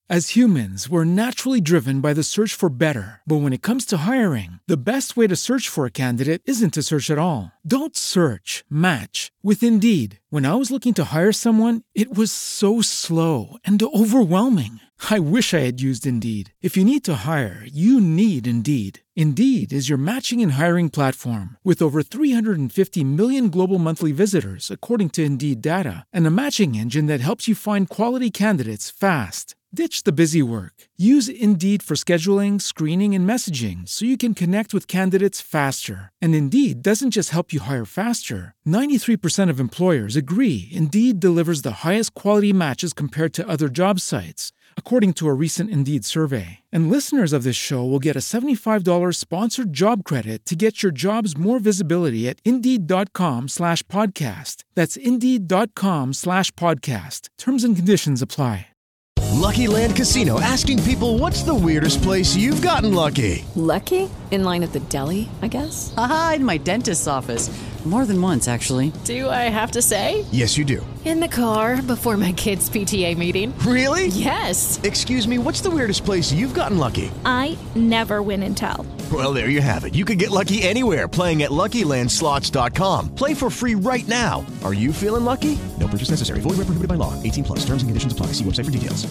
As humans, we're naturally driven by the search for better. But when it comes to hiring, the best way to search for a candidate isn't to search at all. Don't search, match with Indeed. When I was looking to hire someone, it was so slow and overwhelming. I wish I had used Indeed. If you need to hire, you need Indeed. Indeed is your matching and hiring platform with over 350 million global monthly visitors, according to Indeed data, and a matching engine that helps you find quality candidates fast. Ditch the busy work. Use Indeed for scheduling, screening, and messaging so you can connect with candidates faster. And Indeed doesn't just help you hire faster. 93% of employers agree Indeed delivers the highest quality matches compared to other job sites, according to a recent Indeed survey. And listeners of this show will get a $75 sponsored job credit to get your jobs more visibility at Indeed.com/podcast. That's Indeed.com/podcast. Terms and conditions apply. Lucky Land Casino, asking people, what's the weirdest place you've gotten lucky? Lucky? In line at the deli, I guess? Aha, in my dentist's office. More than once, actually. Do I have to say? Yes, you do. In the car before my kids' PTA meeting. Really? Yes. Excuse me, what's the weirdest place you've gotten lucky? I never win and tell. Well, there you have it. You can get lucky anywhere, playing at LuckyLandSlots.com. Play for free right now. Are you feeling lucky? No purchase necessary. Void where prohibited by law. 18+. Terms and conditions apply. See website for details.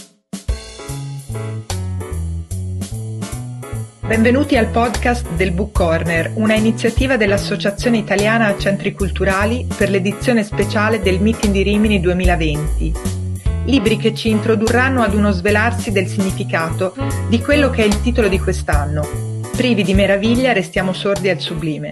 Benvenuti al podcast del Book Corner, una iniziativa dell'Associazione Italiana Centri Culturali per l'edizione speciale del Meeting di Rimini 2020. Libri che ci introdurranno ad uno svelarsi del significato di quello che è il titolo di quest'anno. Privi di meraviglia restiamo sordi al sublime.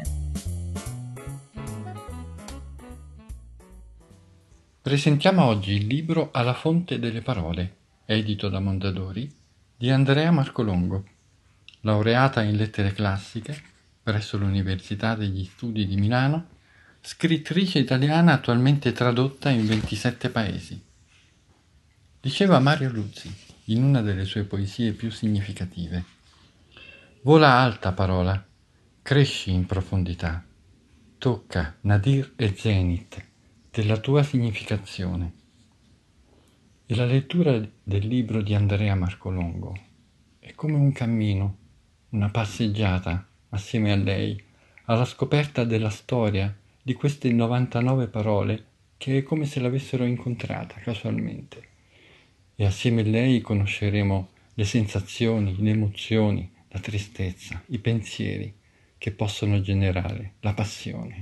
Presentiamo oggi il libro Alla fonte delle parole, edito da Mondadori, di Andrea Marcolongo, laureata in lettere classiche presso l'Università degli Studi di Milano, scrittrice italiana attualmente tradotta in 27 paesi. Diceva Mario Luzzi in una delle sue poesie più significative: vola alta parola, cresci in profondità, tocca nadir e zenit della tua significazione. E la lettura del libro di Andrea Marcolongo è come un cammino, una passeggiata assieme a lei, alla scoperta della storia di queste 99 parole che è come se l'avessero incontrata casualmente. E assieme a lei conosceremo le sensazioni, le emozioni, la tristezza, i pensieri che possono generare la passione.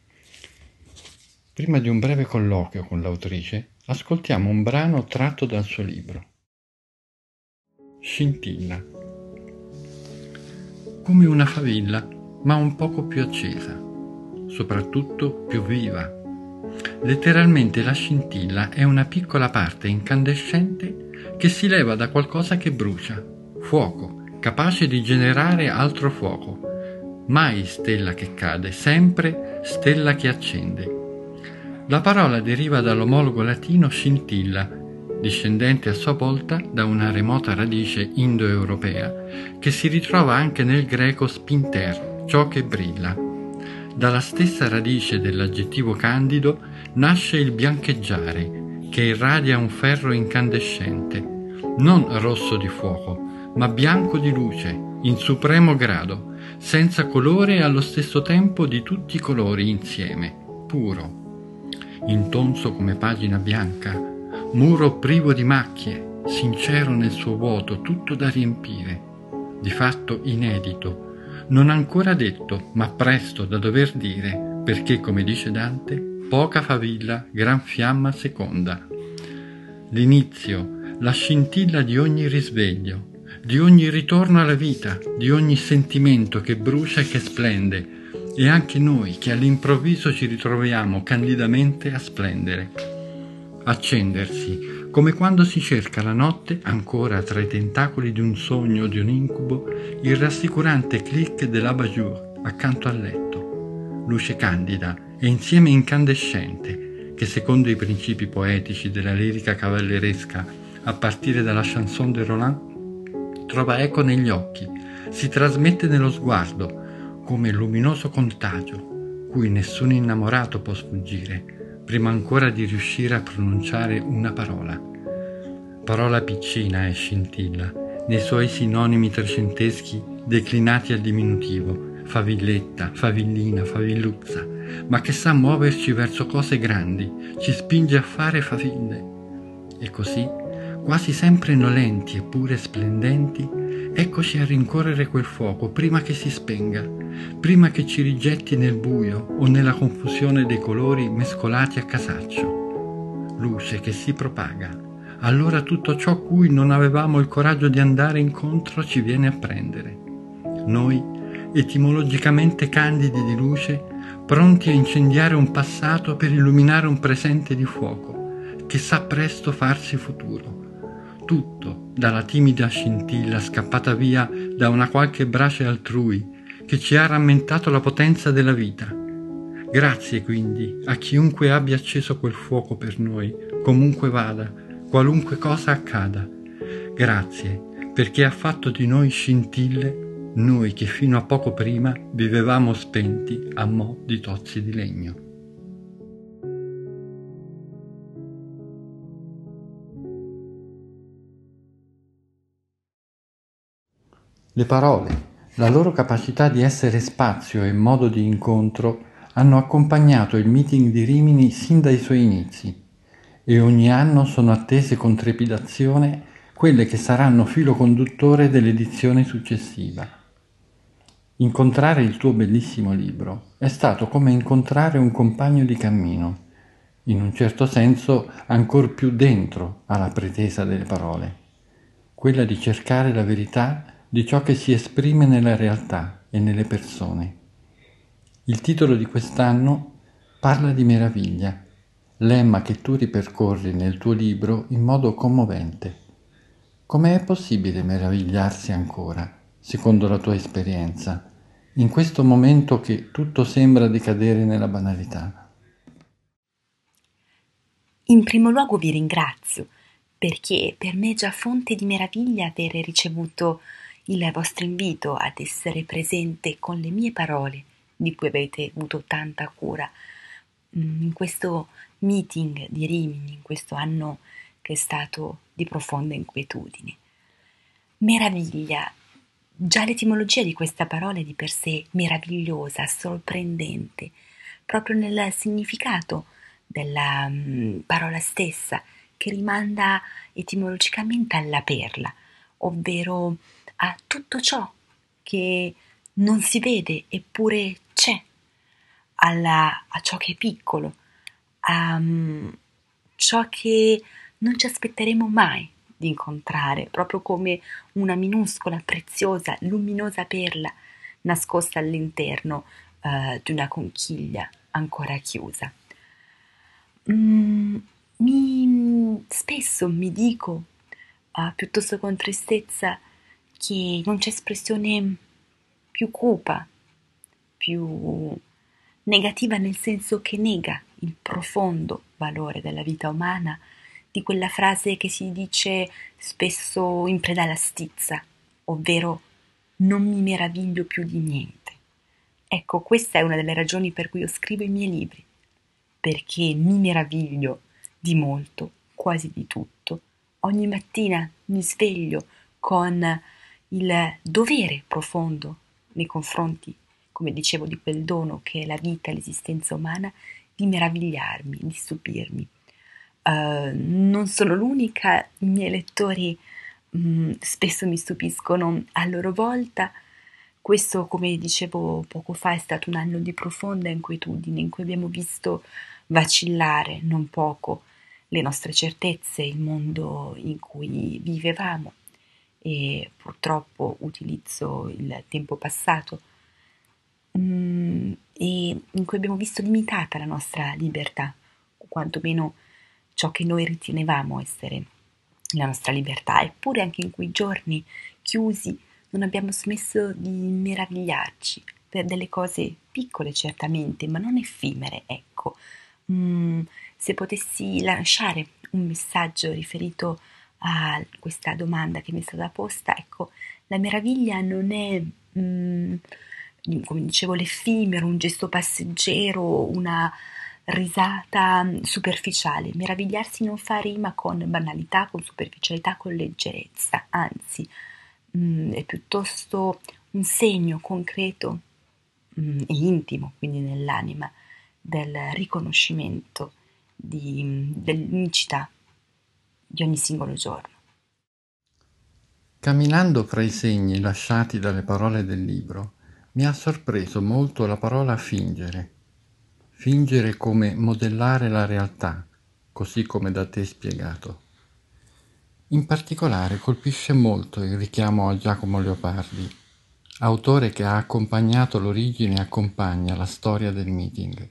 Prima di un breve colloquio con l'autrice, ascoltiamo un brano tratto dal suo libro. Scintilla. Come una favilla, ma un poco più accesa, soprattutto più viva. Letteralmente la scintilla è una piccola parte incandescente che si leva da qualcosa che brucia, fuoco, capace di generare altro fuoco. Mai stella che cade, sempre stella che accende. La parola deriva dall'omologo latino scintilla, discendente a sua volta da una remota radice indoeuropea, che si ritrova anche nel greco spinter, ciò che brilla. Dalla stessa radice dell'aggettivo candido nasce il biancheggiare, che irradia un ferro incandescente, non rosso di fuoco, ma bianco di luce, in supremo grado, senza colore e allo stesso tempo di tutti i colori insieme, puro. Intonso come pagina bianca, muro privo di macchie, sincero nel suo vuoto, tutto da riempire, di fatto inedito, non ancora detto, ma presto da dover dire, perché, come dice Dante, poca favilla, gran fiamma seconda. L'inizio, la scintilla di ogni risveglio, di ogni ritorno alla vita, di ogni sentimento che brucia e che splende, e anche noi che all'improvviso ci ritroviamo candidamente a splendere. Accendersi, come quando si cerca la notte, ancora tra i tentacoli di un sogno o di un incubo, il rassicurante click dell'abat-jour accanto al letto. Luce candida e insieme incandescente, che secondo i principi poetici della lirica cavalleresca, a partire dalla chanson de Roland, trova eco negli occhi, si trasmette nello sguardo, come luminoso contagio, cui nessun innamorato può sfuggire, prima ancora di riuscire a pronunciare una parola. Parola piccina è scintilla, nei suoi sinonimi trecenteschi declinati al diminutivo, favilletta, favillina, favilluzza, ma che sa muoverci verso cose grandi, ci spinge a fare faville. E così, quasi sempre nolenti eppure splendenti, eccoci a rincorrere quel fuoco prima che si spenga, prima che ci rigetti nel buio o nella confusione dei colori mescolati a casaccio. Luce che si propaga. Allora tutto ciò cui non avevamo il coraggio di andare incontro ci viene a prendere. Noi, etimologicamente candidi di luce, pronti a incendiare un passato per illuminare un presente di fuoco, che sa presto farsi futuro. Tutto, dalla timida scintilla scappata via da una qualche brace altrui, che ci ha rammentato la potenza della vita. Grazie quindi a chiunque abbia acceso quel fuoco per noi, comunque vada, qualunque cosa accada. Grazie perché ha fatto di noi scintille, noi che fino a poco prima vivevamo spenti a mo' di tozzi di legno. Le parole, la loro capacità di essere spazio e modo di incontro hanno accompagnato il meeting di Rimini sin dai suoi inizi e ogni anno sono attese con trepidazione quelle che saranno filo conduttore dell'edizione successiva. Incontrare il tuo bellissimo libro è stato come incontrare un compagno di cammino, in un certo senso ancor più dentro alla pretesa delle parole, quella di cercare la verità di ciò che si esprime nella realtà e nelle persone. Il titolo di quest'anno parla di meraviglia, lemma che tu ripercorri nel tuo libro in modo commovente. Come è possibile meravigliarsi ancora, secondo la tua esperienza, in questo momento che tutto sembra decadere nella banalità? In primo luogo vi ringrazio, perché per me è già fonte di meraviglia avere ricevuto il vostro invito ad essere presente con le mie parole, di cui avete avuto tanta cura, in questo meeting di Rimini, in questo anno che è stato di profonda inquietudine. Meraviglia, già l'etimologia di questa parola è di per sé meravigliosa, sorprendente, proprio nel significato della parola stessa, che rimanda etimologicamente alla perla, ovvero a tutto ciò che non si vede eppure c'è, a ciò che è piccolo, a ciò che non ci aspetteremo mai di incontrare, proprio come una minuscola, preziosa, luminosa perla nascosta all'interno di una conchiglia ancora chiusa. Spesso mi dico, piuttosto con tristezza, che non c'è espressione più cupa, più negativa, nel senso che nega il profondo valore della vita umana, di quella frase che si dice spesso in preda alla stizza, ovvero non mi meraviglio più di niente. Ecco, questa è una delle ragioni per cui io scrivo i miei libri, perché mi meraviglio di molto, quasi di tutto. Ogni mattina mi sveglio con il dovere profondo nei confronti, come dicevo, di quel dono che è la vita, l'esistenza umana, di meravigliarmi, di stupirmi. Non sono l'unica, i miei lettori spesso mi stupiscono a loro volta. Questo, come dicevo poco fa, è stato un anno di profonda inquietudine in cui abbiamo visto vacillare non poco le nostre certezze, il mondo in cui vivevamo, e purtroppo utilizzo il tempo passato, e in cui abbiamo visto limitata la nostra libertà, o quantomeno ciò che noi ritenevamo essere la nostra libertà. Eppure anche in quei giorni chiusi non abbiamo smesso di meravigliarci per delle cose piccole certamente, ma non effimere, ecco. Se potessi lasciare un messaggio riferito a questa domanda che mi è stata posta, ecco, la meraviglia non è, come dicevo, l'effimero, un gesto passeggero, una risata superficiale, meravigliarsi non fa rima con banalità, con superficialità, con leggerezza, anzi è piuttosto un segno concreto e intimo, quindi nell'anima, del riconoscimento dell'unicità di ogni singolo giorno. Camminando fra i segni lasciati dalle parole del libro, mi ha sorpreso molto la parola fingere. Fingere come modellare la realtà, così come da te spiegato. In particolare colpisce molto il richiamo a Giacomo Leopardi, autore che ha accompagnato l'origine e accompagna la storia del meeting.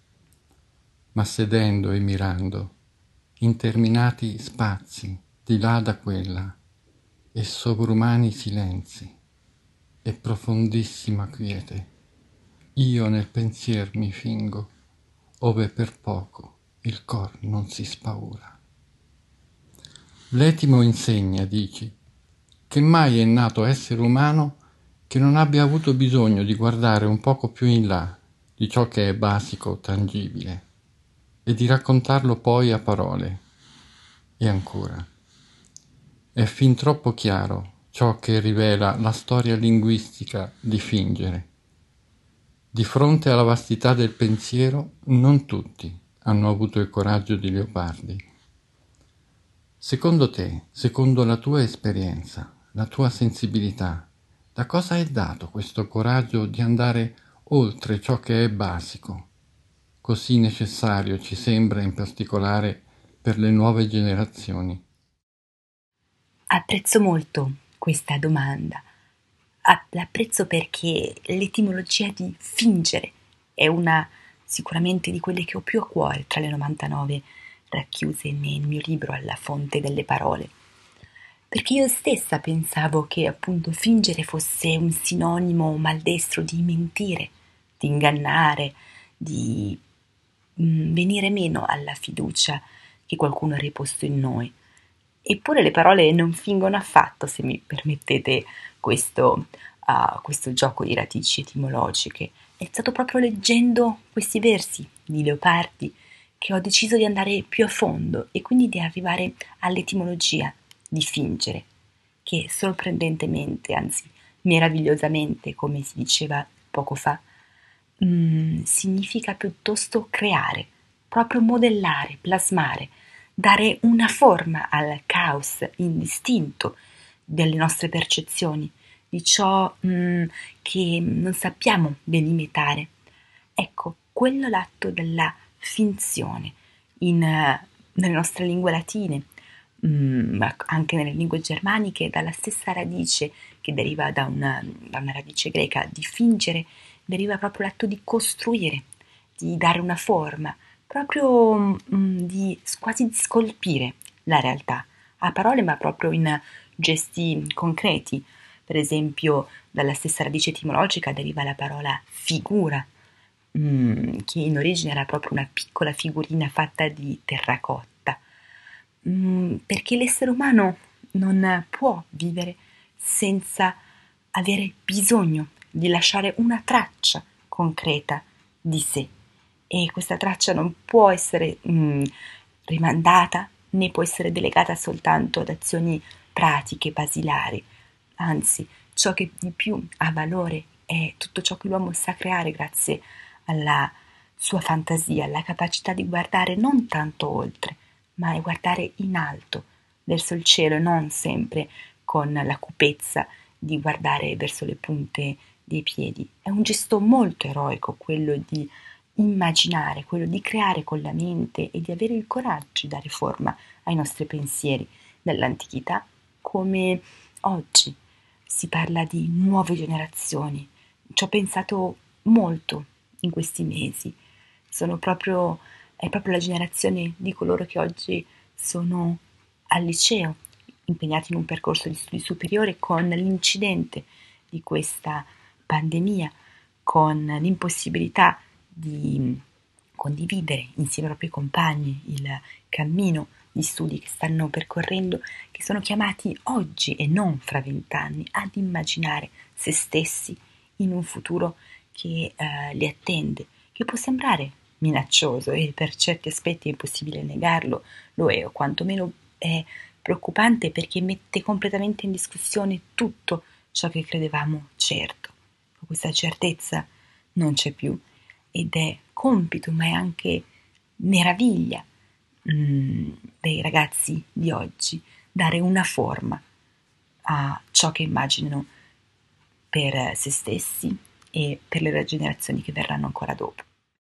Ma sedendo e mirando, interminati spazi di là da quella, e sovrumani silenzi, e profondissima quiete, io nel pensier mi fingo, ove per poco il cor non si spaura. L'etimo insegna, dici, che mai è nato essere umano che non abbia avuto bisogno di guardare un poco più in là di ciò che è basico, tangibile, e di raccontarlo poi a parole. E ancora, è fin troppo chiaro ciò che rivela la storia linguistica di fingere. Di fronte alla vastità del pensiero, non tutti hanno avuto il coraggio di Leopardi. Secondo te, secondo la tua esperienza, la tua sensibilità, da cosa è dato questo coraggio di andare oltre ciò che è basico, così necessario ci sembra in particolare per le nuove generazioni? Apprezzo molto questa domanda. L'apprezzo perché l'etimologia di fingere è una sicuramente di quelle che ho più a cuore tra le 99 racchiuse nel mio libro Alla fonte delle parole. Perché io stessa pensavo che appunto fingere fosse un sinonimo maldestro di mentire, di ingannare, di venire meno alla fiducia che qualcuno ha riposto in noi. Eppure le parole non fingono affatto, se mi permettete questo gioco di radici etimologiche. È stato proprio leggendo questi versi di Leopardi che ho deciso di andare più a fondo e quindi di arrivare all'etimologia di fingere, che sorprendentemente, anzi meravigliosamente, come si diceva poco fa, significa piuttosto creare, proprio modellare, plasmare, dare una forma al caos indistinto delle nostre percezioni, di ciò che non sappiamo delimitare. Ecco, quello è l'atto della finzione nelle nostre lingue latine, ma anche nelle lingue germaniche, dalla stessa radice che deriva da una radice greca di fingere, deriva proprio l'atto di costruire, di dare una forma, proprio quasi di scolpire la realtà, a parole ma proprio in gesti concreti. Per esempio, dalla stessa radice etimologica deriva la parola figura, che in origine era proprio una piccola figurina fatta di terracotta, perché l'essere umano non può vivere senza avere bisogno di lasciare una traccia concreta di sé, e questa traccia non può essere rimandata né può essere delegata soltanto ad azioni pratiche, basilari. Anzi, ciò che di più ha valore è tutto ciò che l'uomo sa creare grazie alla sua fantasia, alla capacità di guardare non tanto oltre, ma di guardare in alto, verso il cielo, e non sempre con la cupezza di guardare verso le punte dei piedi. È un gesto molto eroico quello di immaginare, quello di creare con la mente e di avere il coraggio di dare forma ai nostri pensieri. Nell'antichità come oggi si parla di nuove generazioni. Ci ho pensato molto in questi mesi. È proprio la generazione di coloro che oggi sono al liceo, impegnati in un percorso di studi superiori con l'incidente di questa pandemia, con l'impossibilità di condividere insieme ai propri compagni il cammino di studi che stanno percorrendo, che sono chiamati oggi e non fra 20 anni ad immaginare se stessi in un futuro che li attende, che può sembrare minaccioso e per certi aspetti è impossibile negarlo, lo è, o quantomeno è preoccupante perché mette completamente in discussione tutto ciò che credevamo certo. Questa certezza non c'è più ed è compito, ma è anche meraviglia dei ragazzi di oggi dare una forma a ciò che immaginano per se stessi e per le generazioni che verranno ancora dopo.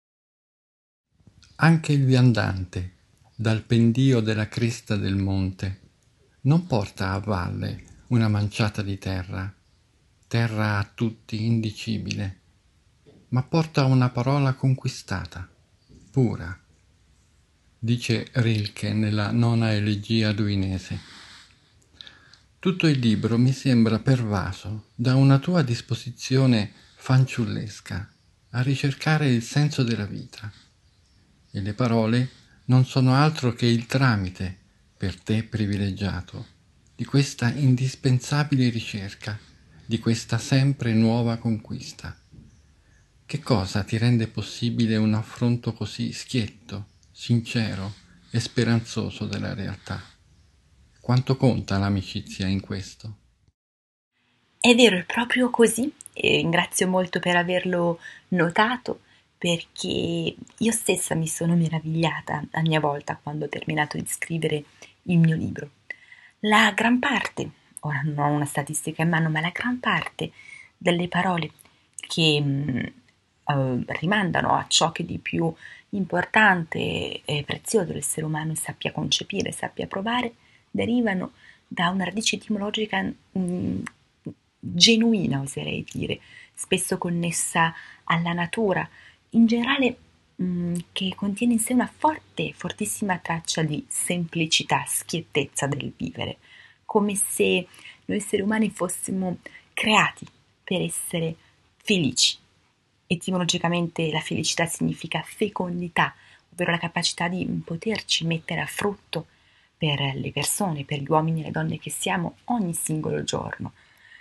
Anche il viandante, dal pendio della cresta del monte, non porta a valle una manciata di terra, terra a tutti indicibile, ma porta una parola conquistata, pura, dice Rilke nella Nona elegia duinese. Tutto il libro mi sembra pervaso da una tua disposizione fanciullesca a ricercare il senso della vita, e le parole non sono altro che il tramite, per te privilegiato, di questa indispensabile ricerca, di questa sempre nuova conquista. Che cosa ti rende possibile un affronto così schietto, sincero e speranzoso della realtà? Quanto conta l'amicizia in questo? È vero, è proprio così e ringrazio molto per averlo notato perché io stessa mi sono meravigliata a mia volta quando ho terminato di scrivere il mio libro. La gran parte, ora non ho una statistica in mano, ma la gran parte delle parole che rimandano a ciò che di più importante e prezioso l'essere umano sappia concepire, sappia provare, derivano da una radice etimologica genuina, oserei dire, spesso connessa alla natura, in generale che contiene in sé una forte, fortissima traccia di semplicità, schiettezza del vivere, come se noi esseri umani fossimo creati per essere felici. Etimologicamente la felicità significa fecondità, ovvero la capacità di poterci mettere a frutto per le persone, per gli uomini e le donne che siamo ogni singolo giorno.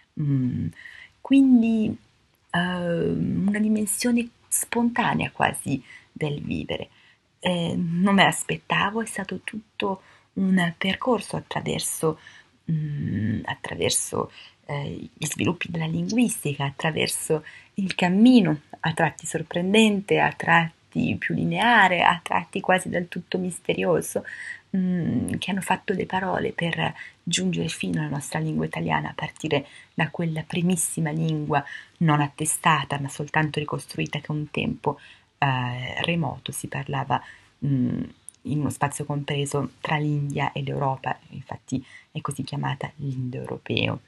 Quindi una dimensione spontanea quasi del vivere. Non me l'aspettavo, è stato tutto un percorso attraverso gli sviluppi della linguistica, attraverso il cammino a tratti sorprendente, a tratti più lineare, a tratti quasi del tutto misterioso, che hanno fatto le parole per giungere fino alla nostra lingua italiana a partire da quella primissima lingua non attestata ma soltanto ricostruita che un tempo remoto si parlava in uno spazio compreso tra l'India e l'Europa, infatti è così chiamata l'indoeuropeo.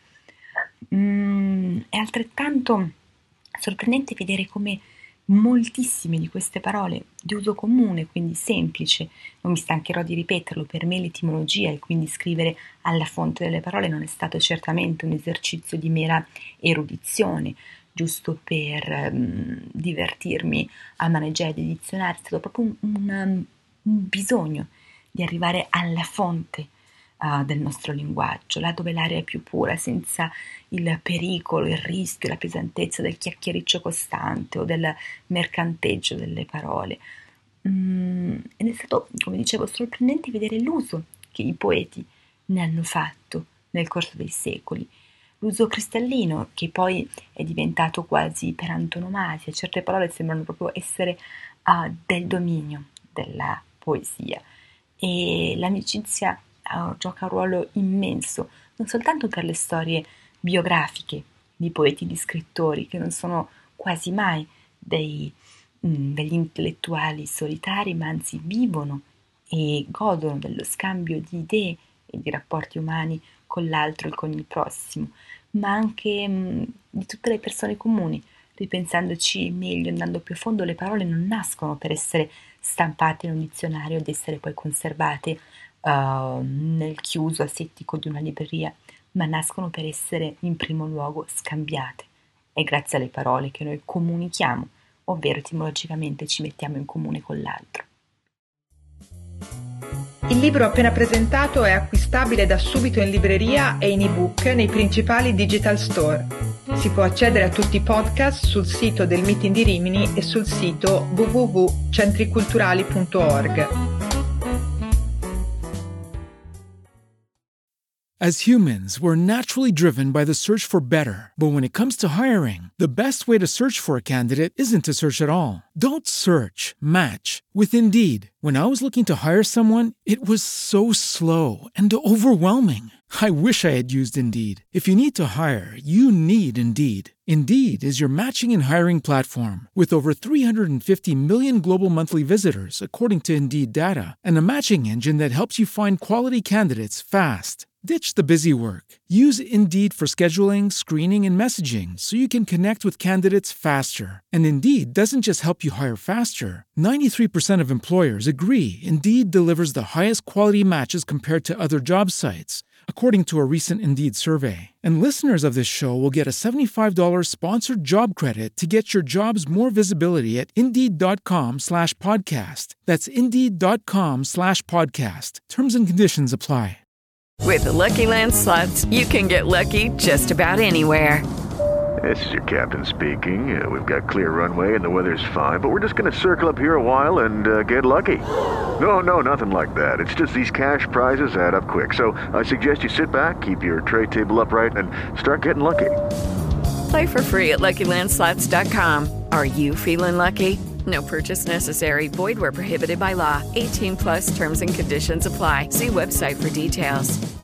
È altrettanto sorprendente vedere come moltissime di queste parole di uso comune, quindi semplice, non mi stancherò di ripeterlo, per me l'etimologia e quindi scrivere alla fonte delle parole non è stato certamente un esercizio di mera erudizione, giusto per divertirmi a maneggiare dei dizionari, è stato proprio un bisogno di arrivare alla fonte del nostro linguaggio, là dove l'aria è più pura, senza il pericolo, il rischio, la pesantezza del chiacchiericcio costante o del mercanteggio delle parole. Ed è stato, come dicevo, sorprendente vedere l'uso che i poeti ne hanno fatto nel corso dei secoli, l'uso cristallino che poi è diventato quasi per antonomasia, certe parole sembrano proprio essere del dominio della poesia e l'amicizia gioca un ruolo immenso, non soltanto per le storie biografiche di poeti e di scrittori, che non sono quasi mai degli intellettuali solitari, ma anzi vivono e godono dello scambio di idee e di rapporti umani con l'altro e con il prossimo, ma anche di tutte le persone comuni. Ripensandoci meglio, andando più a fondo, le parole non nascono per essere stampate in un dizionario ed essere poi conservate nel chiuso asettico di una libreria, ma nascono per essere in primo luogo scambiate. È grazie alle parole che noi comunichiamo, ovvero etimologicamente ci mettiamo in comune con l'altro. Il libro appena presentato è acquistabile da subito in libreria e in ebook nei principali digital store. Si può accedere a tutti i podcast sul sito del Meeting di Rimini e sul sito www.centriculturali.org. As humans, we're naturally driven by the search for better. But when it comes to hiring, the best way to search for a candidate isn't to search at all. Don't search, match with Indeed. When I was looking to hire someone, it was so slow and overwhelming. I wish I had used Indeed. If you need to hire, you need Indeed. Indeed is your matching and hiring platform with over 350 million global monthly visitors, according to Indeed data, and a matching engine that helps you find quality candidates fast. Ditch the busy work. Use Indeed for scheduling, screening, and messaging so you can connect with candidates faster. And Indeed doesn't just help you hire faster. 93% of employers agree Indeed delivers the highest quality matches compared to other job sites, according to a recent Indeed survey. And listeners of this show will get a $75 sponsored job credit to get your jobs more visibility at Indeed.com/podcast. That's Indeed.com/podcast. Terms and conditions apply. With the Lucky Land Slots, you can get lucky just about anywhere. This is your captain speaking. We've got clear runway and the weather's fine, but we're just going to circle up here a while and get lucky. No, nothing like that. It's just these cash prizes add up quick. So I suggest you sit back, keep your tray table upright, and start getting lucky. Play for free at LuckyLandSlots.com. Are you feeling lucky? No purchase necessary. Void where prohibited by law. 18+ terms and conditions apply. See website for details.